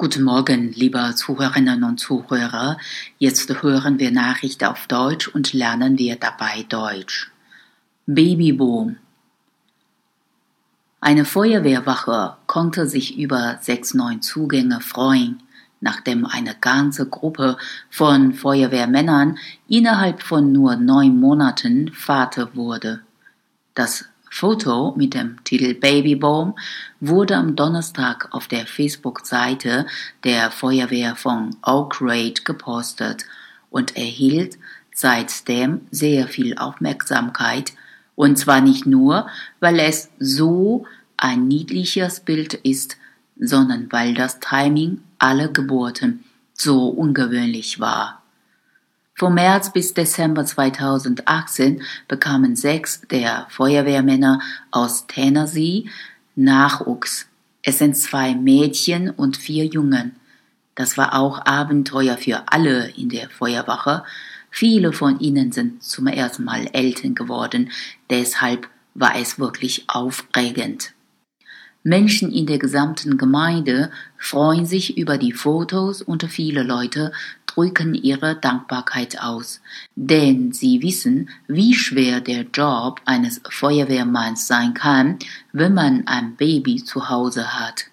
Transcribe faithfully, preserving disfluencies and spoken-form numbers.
Guten Morgen, liebe Zuhörerinnen und Zuhörer. Jetzt hören wir Nachrichten auf Deutsch und lernen wir dabei Deutsch. Babyboom. Eine Feuerwehrwache konnte sich über sechs neuen Zugänge freuen, nachdem eine ganze Gruppe von Feuerwehrmännern innerhalb von nur neun Monaten Vater wurde. Das Foto mit dem Titel Babyboom wurde am Donnerstag auf der Facebook-Seite der Feuerwehr von Oak Ridge gepostet und erhielt seitdem sehr viel Aufmerksamkeit, und zwar nicht nur, weil es so ein niedliches Bild ist, sondern weil das Timing aller Geburten so ungewöhnlich war. Von März bis Dezember zweitausendachtzehn bekamen sechs der Feuerwehrmänner aus Tennessee Nachwuchs. Es sind zwei Mädchen und vier Jungen. Das war auch Abenteuer für alle in der Feuerwache. Viele von ihnen sind zum ersten Mal Eltern geworden, deshalb war es wirklich aufregend. Menschen in der gesamten Gemeinde freuen sich über die Fotos und viele Leute drücken ihre Dankbarkeit aus, denn sie wissen, wie schwer der Job eines Feuerwehrmanns sein kann, wenn man ein Baby zu Hause hat.